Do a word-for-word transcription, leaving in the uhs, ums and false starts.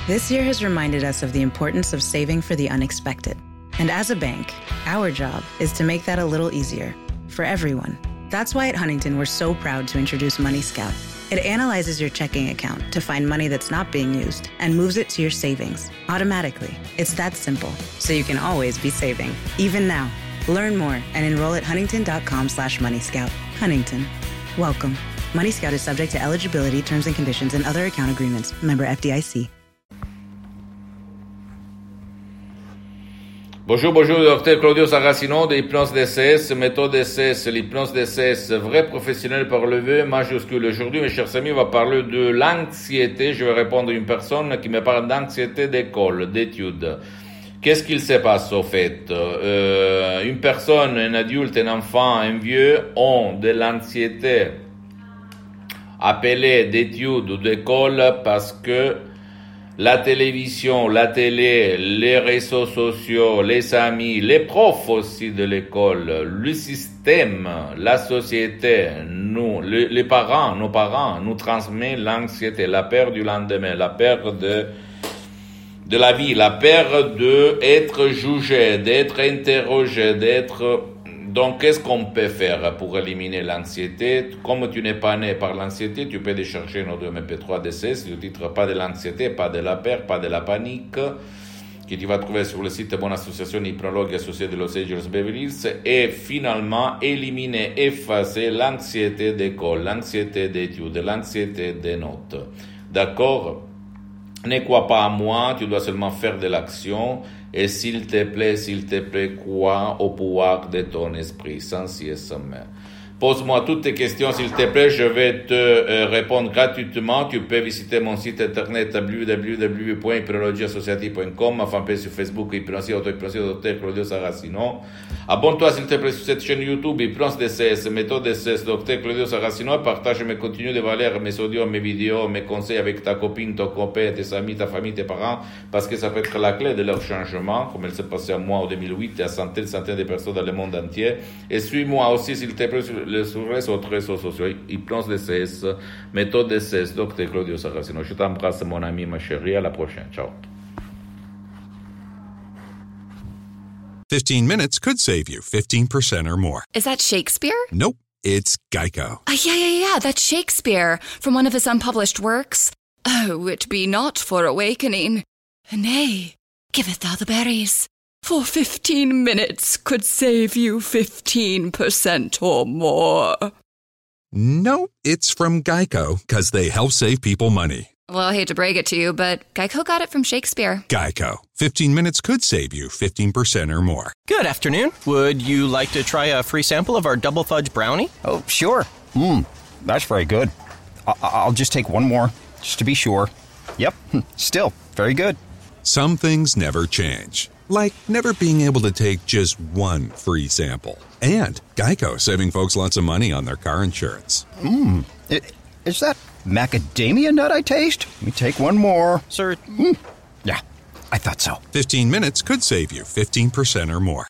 This year has reminded us of the importance of saving for the unexpected. And as a bank, our job is to make that a little easier for everyone. That's why at Huntington, we're so proud to introduce Money Scout. It analyzes your checking account to find money that's not being used and moves it to your savings automatically. It's that simple, so you can always be saving, even now. Learn more and enroll at huntington.com slash Money Scout. Huntington. Welcome. Money Scout is subject to eligibility, terms and conditions, and other account agreements. Member F D I C. Bonjour, bonjour, docteur Claudio Saracino de Hypnose D C S, méthode D C S, l'hypnose D C S, vrai professionnel par le V majuscule. Aujourd'hui, mes chers amis, on va parler de l'anxiété. Je vais répondre à une personne qui me parle d'anxiété d'école, d'études. Qu'est-ce qu'il se passe au fait? euh, Une personne, un adulte, un enfant, un vieux ont de l'anxiété appelée d'études ou d'école parce que la télévision, la télé, les réseaux sociaux, les amis, les profs aussi de l'école, le système, la société, nous, les, les parents, nos parents, nous transmettent l'anxiété, la peur du lendemain, la peur de, de la vie, la peur d'être jugé, d'être interrogé, d'être... Donc, qu'est-ce qu'on peut faire pour éliminer l'anxiété? Comme tu n'es pas né par l'anxiété, tu peux décharger nos deux M P trois D C S, le titre pas de l'anxiété, pas de la peur, pas de la panique, que tu vas trouver sur le site Bonne Association Hypnologue Associée de Los Angeles Beverly Hills, et finalement éliminer, effacer l'anxiété d'école, l'anxiété d'études, l'anxiété des notes. D'accord? Ne crois pas à moi, tu dois seulement faire de l'action. Et s'il te plaît, s'il te plaît, crois au pouvoir de ton esprit, sans y sommet. Pose-moi toutes tes questions, s'il te plaît, je vais te euh, répondre gratuitement. Tu peux visiter mon site internet w w w point hypnologie associative point com, ma fanpage sur Facebook, Hypnosie, auto-hypnosie, docteur Claudio Saracino. Abonne-toi, s'il te plaît, sur cette chaîne YouTube, Hypnose D C S, méthode D C S, docteur Claudio Saracino. Partage mes contenus de valeur, mes audios, mes vidéos, mes conseils avec ta copine, ton copain, tes amis, ta famille, tes parents, parce que ça peut être la clé de leur changement, comme il s'est passé à moi en deux mille huit et à centaines, centaines de personnes dans le monde entier. Et suis-moi aussi, s'il te plaît, sur sur les autres réseaux sociaux, Hypnose D C S, méthode D C S, docteur Claudio Saracino. Je t'embrasse, mon ami, ma chérie. À la prochaine. Ciao. fifteen minutes could save you fifteen percent or more. Is that Shakespeare? Nope, it's Geico. Uh, yeah, yeah, yeah, that's Shakespeare from one of his unpublished works. Oh, it be not for awakening. Nay, giveth thou the berries. For fifteen minutes could save you fifteen percent or more. Nope, it's from Geico, because they help save people money. Well, I hate to break it to you, but Geico got it from Shakespeare. Geico. fifteen minutes could save you fifteen percent or more. Good afternoon. Would you like to try a free sample of our double fudge brownie? Oh, sure. Mmm, that's very good. I- I'll just take one more, just to be sure. Yep, still very good. Some things never change. Like never being able to take just one free sample. And Geico saving folks lots of money on their car insurance. Mmm, is that macadamia nut I taste? Let me take one more. Sir, mm. Yeah, I thought so. fifteen minutes could save you fifteen percent or more.